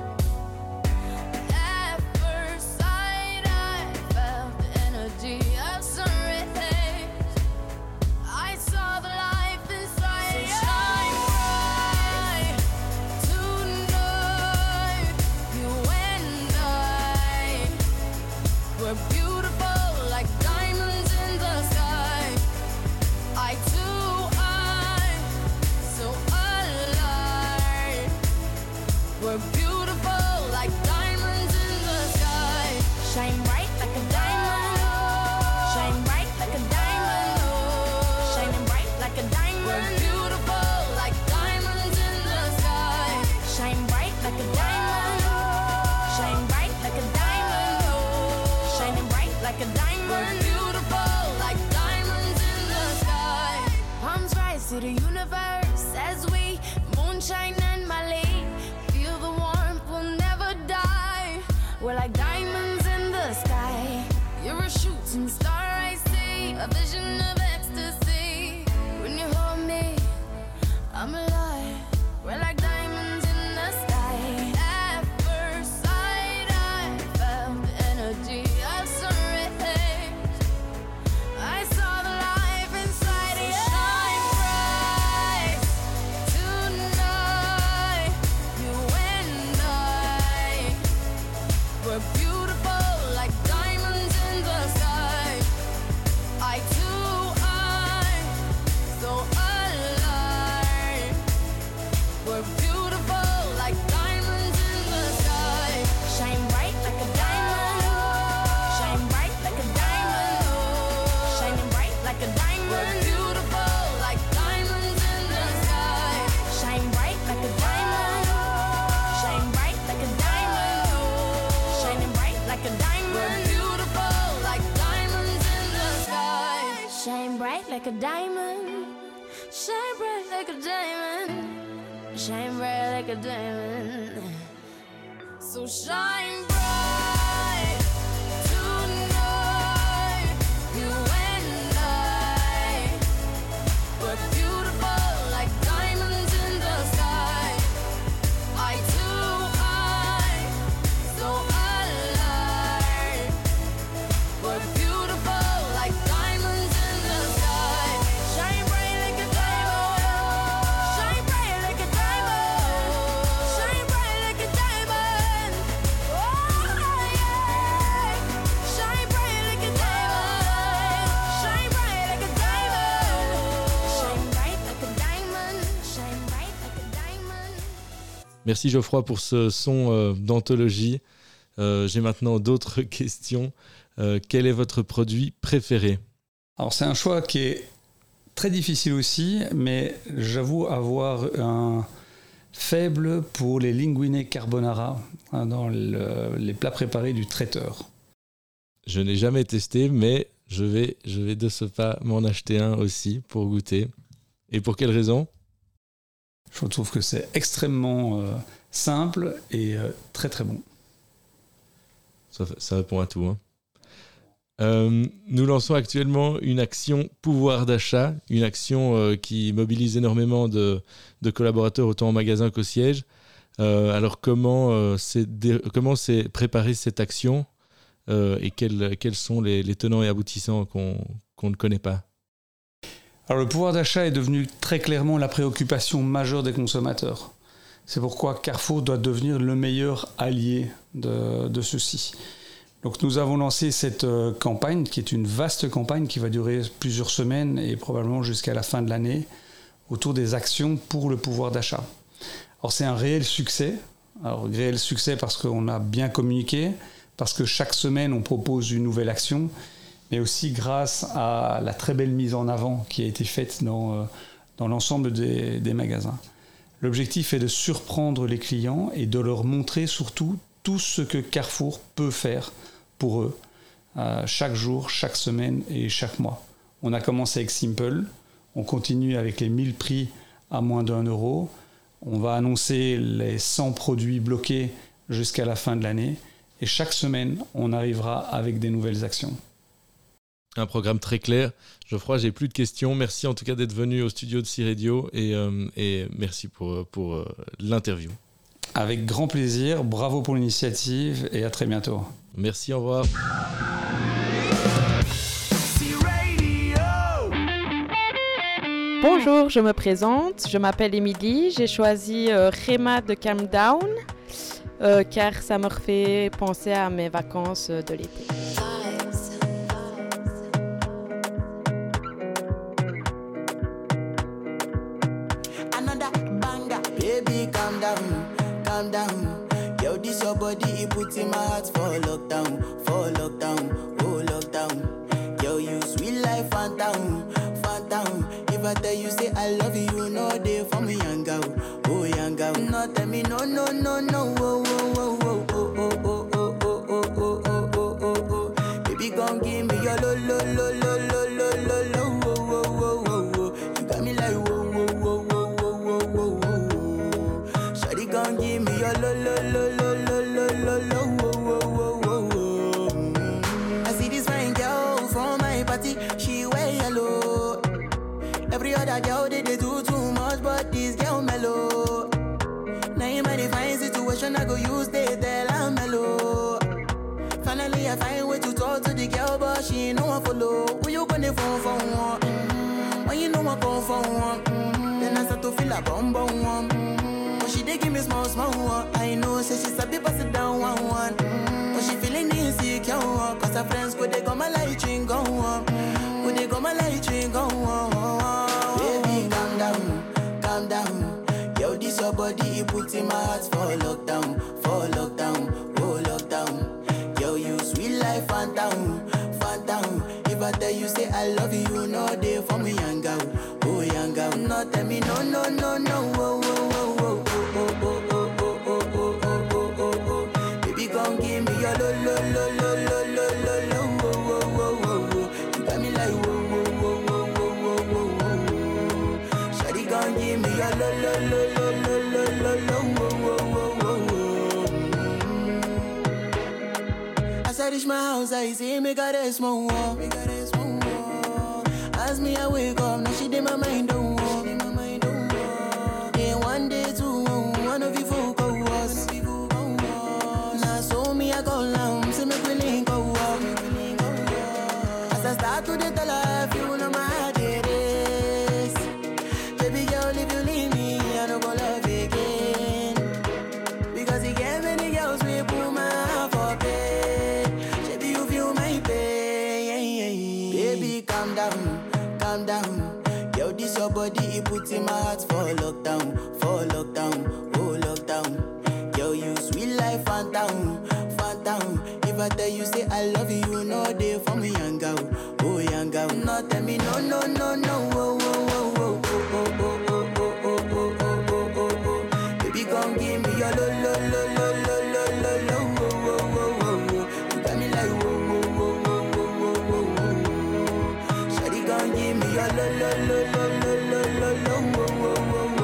S12: At first sight, I felt the energy of sun rays. I saw the life inside. So shine bright like diamonds in the sky. You're a shooting star I see, a vision of ecstasy. When you hold me, I'm alive. We're like diamonds in the sky. At first sight, I felt the energy of sun rays. I saw the life inside you. Shine bright tonight. You and I were beautiful like diamonds in the sky. I too, I'm so alive. We're beautiful like diamonds in the sky. Shine bright like a diamond. Shine bright like a diamond. Shining bright like a diamond. We're beautiful like diamonds in the sky. Shine bright like a diamond. Shine bright like a diamond. Shining bright like a diamond. We're beautiful like diamonds in the sky. Shine bright like a diamond. Shine bright like a diamond. Shine bright like a diamond. So shine bright tonight. You and I were beautiful like diamonds in the sky. I too, I'm so alive. We're beautiful like diamonds in the sky. Shine bright like a diamond. Shine bright like a diamond. Shine bright like a diamond. Oh yeah. Shine bright like a diamond. Shine bright like a diamond. Shine bright like a diamond. Shine bright like a diamond.
S2: Merci Geoffroy pour ce son euh, d'anthologie. Euh, j'ai maintenant d'autres questions. Euh, quel est votre produit préféré ?
S19: Alors c'est un choix qui est très difficile aussi, mais j'avoue avoir un faible pour les linguine carbonara hein, dans le- les plats préparés du traiteur.
S2: Je n'ai jamais testé, mais je vais, je vais de ce pas m'en acheter un aussi pour goûter. Et pour quelle raison ?
S19: Je trouve que c'est extrêmement euh, simple et euh, très très bon.
S2: Ça, ça répond à tout. Hein. Euh, nous lançons actuellement une action pouvoir d'achat, une action euh, qui mobilise énormément de, de collaborateurs autant en magasin qu'au siège. Euh, alors comment euh, c'est dé- comment c'est préparé cette action euh, et quels, quels sont les, les tenants et aboutissants qu'on, qu'on ne connaît pas ?
S19: Alors le pouvoir d'achat est devenu très clairement la préoccupation majeure des consommateurs. C'est pourquoi Carrefour doit devenir le meilleur allié de, de ceux-ci. Donc nous avons lancé cette euh, campagne, qui est une vaste campagne qui va durer plusieurs semaines et probablement jusqu'à la fin de l'année, autour des actions pour le pouvoir d'achat. Alors c'est un réel succès. Alors réel succès parce qu'on a bien communiqué, parce que chaque semaine on propose une nouvelle action, mais aussi grâce à la très belle mise en avant qui a été faite dans, euh, dans l'ensemble des, des magasins. L'objectif est de surprendre les clients et de leur montrer surtout tout ce que Carrefour peut faire pour eux, euh, chaque jour, chaque semaine et chaque mois. On a commencé avec Simple, on continue avec les mille prix à moins d'un euro, on va annoncer les cent produits bloqués jusqu'à la fin de l'année et chaque semaine, on arrivera avec des nouvelles actions.
S2: Un programme très clair. Geoffroy, j'ai plus de questions. Merci en tout cas d'être venu au studio de C-Radio et, euh, et merci pour, pour euh, l'interview.
S19: Avec grand plaisir, bravo pour l'initiative et à très bientôt.
S2: Merci, au revoir.
S20: Bonjour, je me présente, je m'appelle Émilie, j'ai choisi euh, Rema de Calm Down euh, car ça me refait penser à mes vacances de l'été.
S21: Another banger, baby, calm down, calm down. Yo, this your body, it puts in my heart for lockdown, for lockdown, oh lockdown. Yo, you sweet life, phantom, phantom. If I tell you say I love you, no day for me, young girl, oh young girl. No tell me no, no, no, no, oh, oh, oh, oh, oh, oh, oh, oh, oh, oh, oh, oh, oh, oh. Baby, gon' give me your lo, lo, lo, lo, lo, lo, lo, lo, oh, oh, oh, oh, oh. You got me like whoa, whoa, whoa, whoa, whoa, whoa, whoa, whoa. Shawty gon' give me your lo, lo, lo, lo, lo, lo, lo, lo, oh, oh, oh. you know I follow, who you gonna phone for one? Mm-hmm. When you know I come for one, mm-hmm. then I start to feel a bum bum one. Mm-hmm. But she dey give me small small one. I know, say she sabi pass it down one one. Mm-hmm. But she feeling insecure, cause her friends go they come my light ring go on. Go they come my light ring go on. Baby, calm down, calm down. Yo, this your body, it puts in my heart for lockdown, for lockdown, oh lockdown. Yo, you sweet life, phantom, phantom. If I tell you say I love you, you know they for me young girl, oh young girl. No tell me no, no, no, no, oh, oh, oh, oh, oh, oh, oh, oh, oh, oh, oh, oh, oh, oh. Baby, come give me your lo, lo, lo, lo, lo, lo, lo, lo, oh, oh, oh, oh, oh. You got me like whoa, whoa, whoa, whoa, whoa, whoa, whoa, whoa. Shawty, come give me your lo, lo, lo, lo, lo, lo, lo, lo, oh, oh, oh, oh, oh. As I reach my house, I see me got a small wall, me got a small wall. As me I wake up, now she did my mind don't walk. Day one, day two, one of you folk go was. Now so me I go down, see me willing go walk. As I start to the tell her, you know my heart it is. Baby girl, if you leave me, I don't go love again. Because you get many girls we put my heart for bed. Baby, you feel my pain. Baby, calm down, calm down. Yo, this your body, it puts in my heart for lockdown, for lockdown, oh lockdown. Yo, you sweet life, phantom, phantom. If I tell you say I love you, you know they for me young girl, oh young girl. No tell me no, no, no, no, oh, oh, oh, oh, oh, oh, oh, oh, oh, oh, oh, oh, oh. Baby, come give me your lo, lo, lo, lo, lo, lo, lo, lo, oh, oh, oh, oh. You got me like whoa, whoa, whoa, whoa, whoa, whoa, whoa. Shawty, come give me your lo, lo, lo, lo, lo, lo, lo, lo, oh, oh, oh, oh, oh.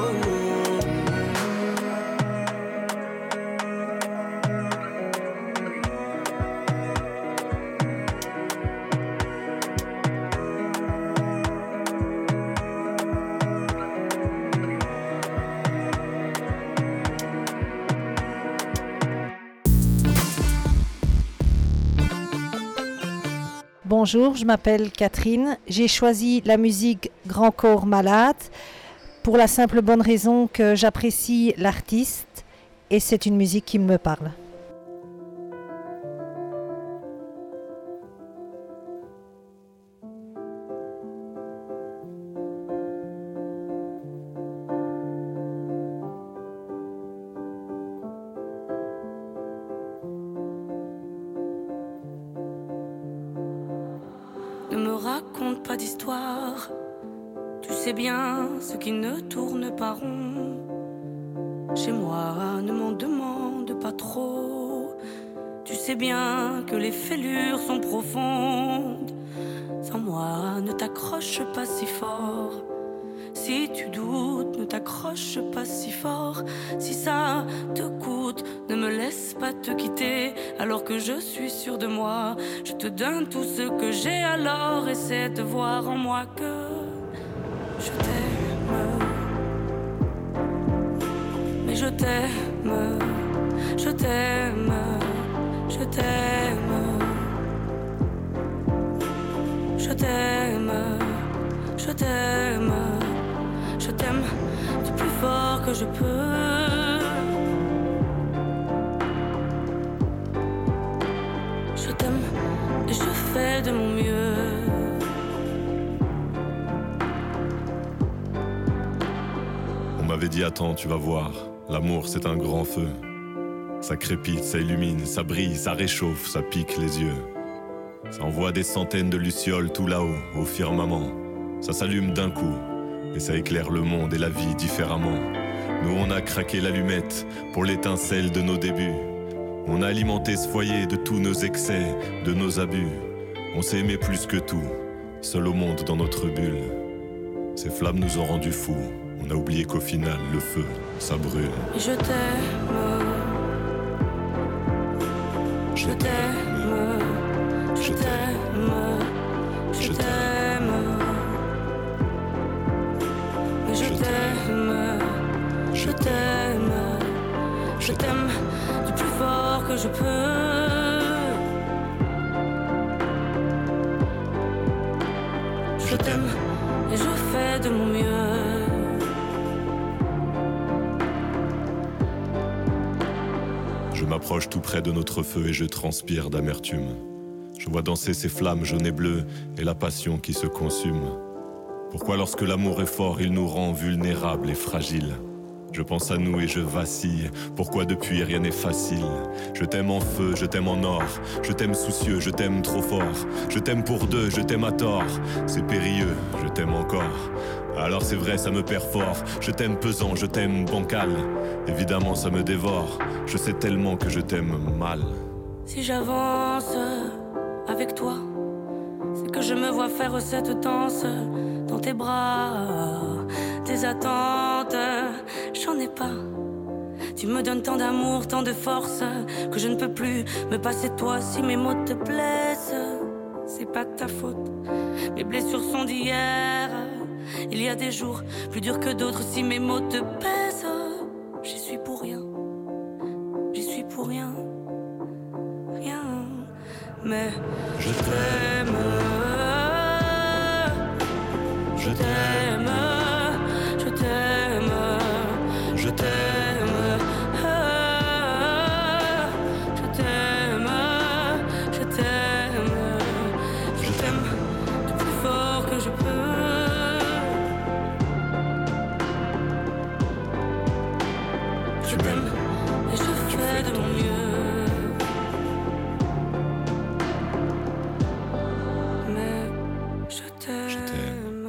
S11: Bonjour, je m'appelle Catherine. J'ai choisi la musique Grand Corps Malade pour la simple bonne raison que j'apprécie l'artiste et c'est une musique qui me parle.
S12: Ne me raconte pas d'histoire, tu sais bien ce qui ne tourne pas rond. Chez moi, ne m'en demande pas trop, tu sais bien que les fêlures sont profondes. Sans moi, ne t'accroche pas si fort. Si tu doutes, ne t'accroche pas si fort. Si ça te coûte, ne me laisse pas te quitter. Alors que je suis sûre de moi, je te donne tout ce que j'ai. Alors essaie de voir en moi que je t'aime. Mais je t'aime, je t'aime, je t'aime. Je t'aime, je t'aime. Je t'aime du plus fort que je peux. Je t'aime et je fais de mon mieux.
S3: On m'avait dit attends, tu vas voir, l'amour c'est un grand feu. Ça crépite, ça illumine, ça brille, ça réchauffe, ça pique les yeux. Ça envoie des centaines de lucioles tout là-haut, au firmament. Ça s'allume d'un coup. Et ça éclaire le monde et la vie différemment. Nous on a craqué l'allumette pour l'étincelle de nos débuts. On a alimenté ce foyer de tous nos excès, de nos abus. On s'est aimé plus que tout, seul au monde dans notre bulle. Ces flammes nous ont rendus fous. On a oublié qu'au final le feu, ça brûle.
S12: Et je t'aime, je t'aime, je t'aime, je t'aime. Je t'aime, je t'aime, je t'aime du plus fort que je peux. Je t'aime et je fais de mon mieux.
S3: Je m'approche tout près de notre feu et je transpire d'amertume. Je vois danser ces flammes jaunes et bleues et la passion qui se consume. Pourquoi lorsque l'amour est fort, il nous rend vulnérables et fragiles? Je pense à nous et je vacille. Pourquoi depuis rien n'est facile? Je t'aime en feu, je t'aime en or. Je t'aime soucieux, je t'aime trop fort. Je t'aime pour deux, je t'aime à tort. C'est périlleux, je t'aime encore. Alors c'est vrai, ça me perd fort. Je t'aime pesant, je t'aime bancal. Évidemment ça me dévore. Je sais tellement que je t'aime mal.
S12: Si j'avance avec toi, c'est que je me vois faire cette danse dans tes bras. Tes attentes, j'en ai pas. Tu me donnes tant d'amour, tant de force, que je ne peux plus me passer de toi. Si mes mots te blessent, c'est pas de ta faute. Mes blessures sont d'hier. Il y a des jours plus durs que d'autres. Si mes mots te pèsent, j'y suis pour rien. J'y suis pour rien. Rien. Mais je t'aime. Je t'aime. Je t'aime. Je t'aime. Je t'aime. Je t'aime. Je t'aime du plus fort que je peux. Je t'aime et je fais de mon mieux. Mais je t'aime.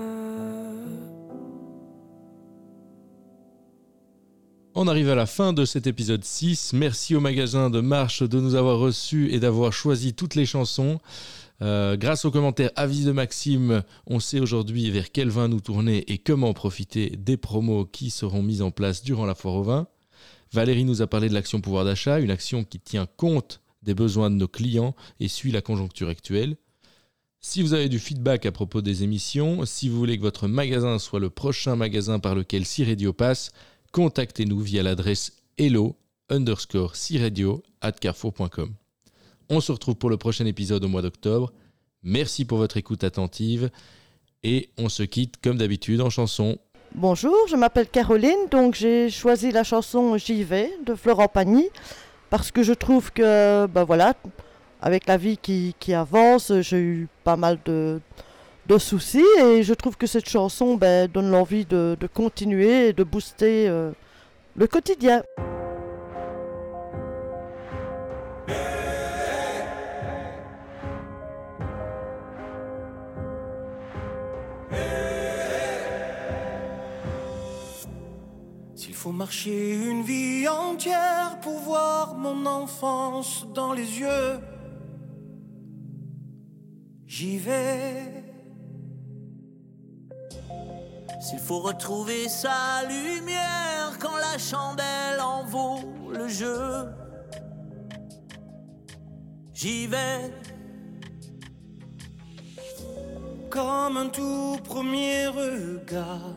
S2: On arrive à la fin de cet épisode six. Merci au magasin de Marche de nous avoir reçus et d'avoir choisi toutes les chansons. Euh, grâce aux commentaires avis de Maxime, on sait aujourd'hui vers quel vin nous tourner et comment profiter des promos qui seront mises en place durant la foire au vin. Valérie nous a parlé de l'action pouvoir d'achat, une action qui tient compte des besoins de nos clients et suit la conjoncture actuelle. Si vous avez du feedback à propos des émissions, si vous voulez que votre magasin soit le prochain magasin par lequel C-Radio passe, contactez-nous via l'adresse hello underscore c-radio at carrefour point com. On se retrouve pour le prochain épisode au mois d'octobre. Merci pour votre écoute attentive et on se quitte comme d'habitude en chanson.
S5: Bonjour, je m'appelle Caroline, donc j'ai choisi la chanson J'y vais de Florent Pagny parce que je trouve que, ben voilà, avec la vie qui, qui avance, j'ai eu pas mal de, de soucis et je trouve que cette chanson ben, donne l'envie de, de continuer et de booster euh, le quotidien.
S18: Faut marcher une vie entière pour voir mon enfance dans les yeux. J'y vais. S'il faut retrouver sa lumière quand la chandelle en vaut le jeu, j'y vais. Comme un tout premier regard,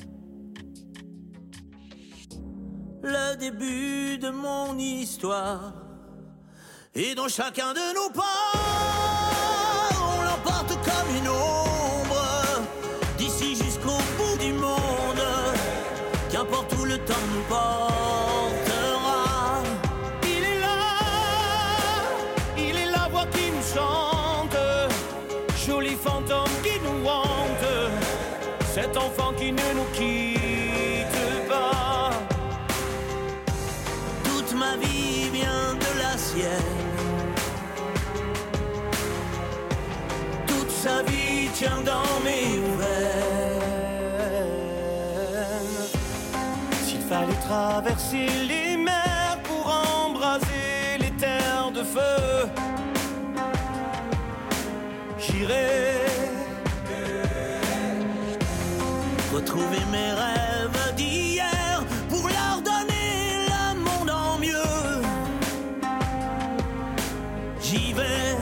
S18: le début de mon histoire, et dans chacun de nos pas, on l'emporte comme une ombre, d'ici jusqu'au bout du monde, qu'importe où le temps nous portera. Il est là, il est la voix qui nous chante, joli fantôme qui nous hante, cet enfant qui ne nous quitte pas. Ma vie vient de la sienne. Toute sa vie tient dans mes veines. S'il fallait traverser les mers pour embraser les terres de feu, j'irai retrouver mes rêves d'hier pour leur donner j'y vais.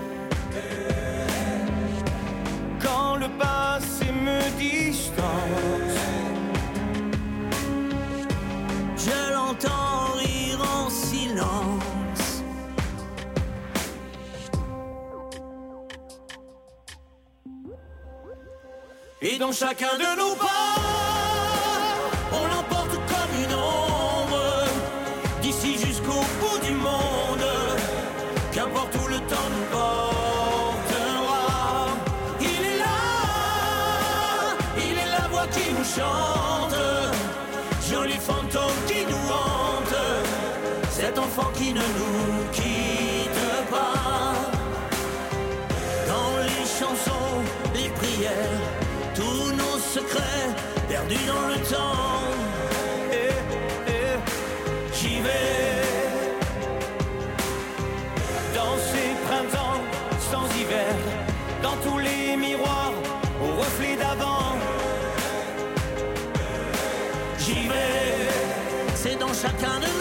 S18: Quand le passé me distance, je l'entends rire en silence.
S1: Et dans chacun de nos pas, on l'emporte comme une ombre, d'ici jusqu'au bout du monde, qu'importe où le temps nous portera. Il est là, il est la voix qui nous chante, joli fantôme qui nous hante, cet enfant qui ne nous quitte pas. Dans les chansons, les prières, tous nos secrets perdus dans le temps. Eh, eh, j'y vais. Dans ces printemps sans hiver, dans tous les miroirs au reflet d'avant. J'y vais. C'est dans chacun de